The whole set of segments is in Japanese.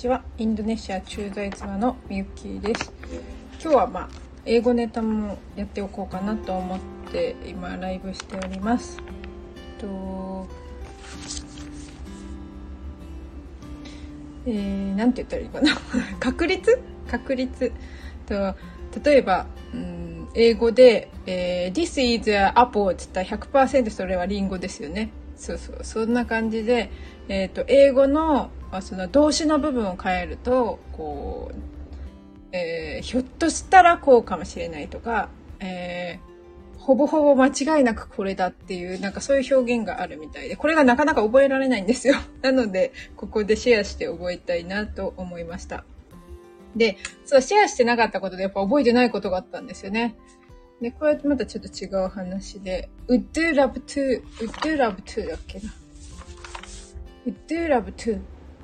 ちは。インドネシア駐在妻のみゆきです。今日は英語ネタもやっておこうかなと思って今ライブしております。なんて言ったらいいかな確率と、例えば、英語で、This is an apple って言ったら 100% それはリンゴですよね。そんな感じで、英語のその動詞の部分を変えるとこう、ひょっとしたらこうかもしれないとか、ほぼほぼ間違いなくこれだっていうなんかそういう表現があるみたいで、これがなかなか覚えられないんですよ。なのでここでシェアして覚えたいなと思いました。で、そうシェアしてなかったことでやっぱ覚えてないことがあったんですよね。で、これまたちょっと違う話で、would you love to だっけな。would you love to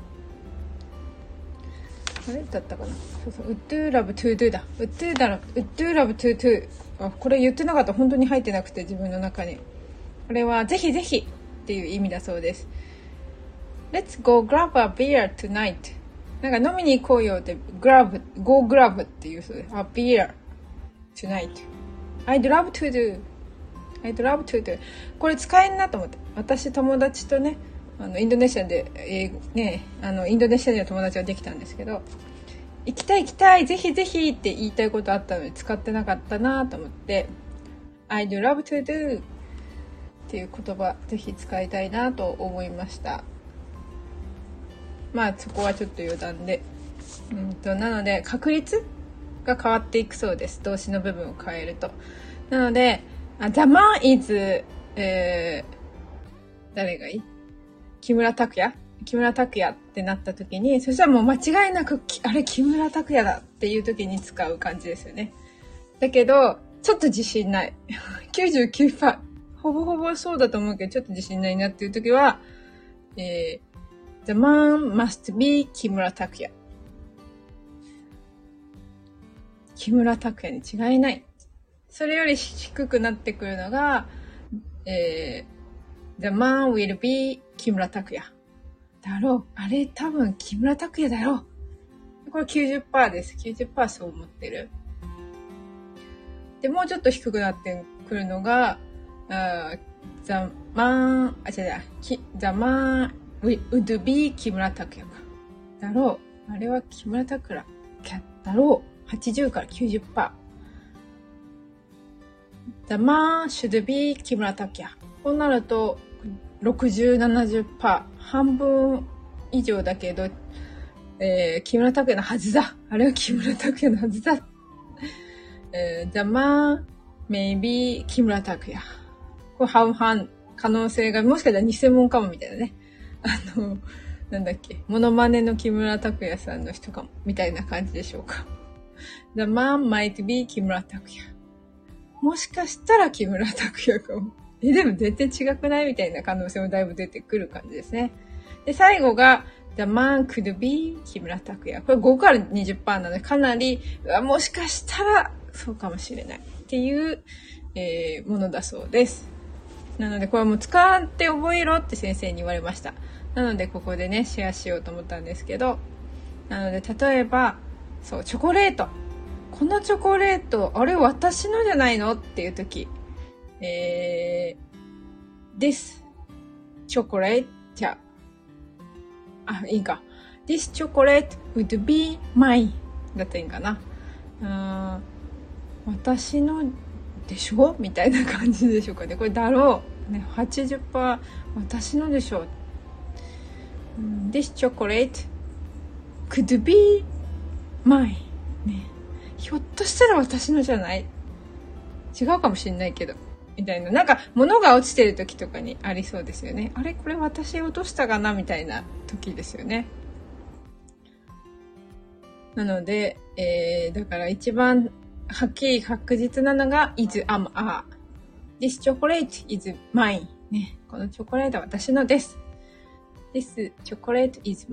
あれだったかな。would you love to do だ。would you love to do これ言ってなかった。本当に入ってなくて自分の中に。これはぜひぜひっていう意味だそうです。Let's go grab a beer tonight。なんか飲みに行こうよって、go grab っていうそうです。a beer tonight。I'd love to do。これ使えんなと思って。私友達とね、インドネシアで、インドネシアには友達ができたんですけど、行きたいぜひぜひって言いたいことあったのに使ってなかったなと思って、I'd love to do っていう言葉ぜひ使いたいなと思いました。そこはちょっと余談で、なので確率が変わっていくそうです。動詞の部分を変えると。なので、The man is、誰がいい？木村拓哉ってなった時に、そしたらもう間違いなくあれ木村拓哉だっていう時に使う感じですよね。だけどちょっと自信ない 99% ほぼほぼそうだと思うけどちょっと自信ないなっていう時は、The man must be 木村拓哉。木村拓哉に違いない。それより低くなってくるのが、The man will be 木村拓哉だろう。あれ多分木村拓哉だろう。これ 90% です。90% そう思ってる。で、もうちょっと低くなってくるのが、The man would be 木村拓哉か。だろう。あれは木村拓哉だろう。80から 90%。The man should be 木村拓哉。こうなると、60、70%。半分以上だけど、木村拓哉のはずだ。あれは木村拓哉のはずだ。The man may be 木村拓哉。これ半々可能性が、もしかしたら偽物かもみたいなね。なんだっけ、モノマネの木村拓哉さんの人かも、みたいな感じでしょうか。The man might be 木村拓哉。もしかしたら木村拓哉かも。でも全然違くないみたいな可能性もだいぶ出てくる感じですね。で、最後が The man could be 木村拓哉。これ5から 20% なのでかなり、もしかしたらそうかもしれないっていう、ものだそうです。なのでこれはもう使って覚えろって先生に言われました。なのでここでねシェアしようと思ったんですけど、なので例えばそうチョコレート、このチョコレートあれ私のじゃないのっていう時、This chocolate じゃいいか This chocolate would be mine だったらいいかな。私のでしょみたいな感じでしょうかね。これだろう、ね、80% 私のでしょ。This chocolate could be mine、ね、ひょっとしたら私のじゃない、違うかもしれないけどみたいな、なんか物が落ちてる時とかにありそうですよね。あれこれ私落としたかなみたいな時ですよね。なので、だから一番はっきり確実なのが is am are。This chocolate is mine、ね、このチョコレートは私のです。This chocolate is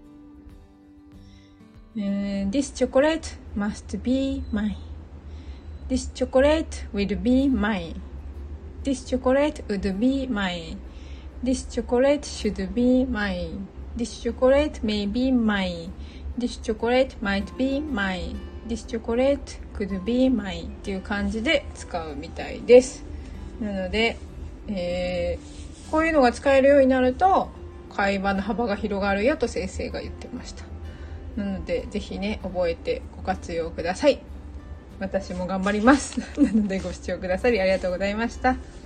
mine、This chocolate must be mine。This chocolate will be mine。This chocolate would be mine。This chocolate should be mine。This chocolate may be mine。 This chocolate might be mine. This chocolate could be mine っていう感じで使うみたいです。なので、こういうのが使えるようになると会話の幅が広がるよと先生が言ってました。なのでぜひね、覚えてご活用ください。私も頑張ります。なのでご視聴くださりありがとうございました。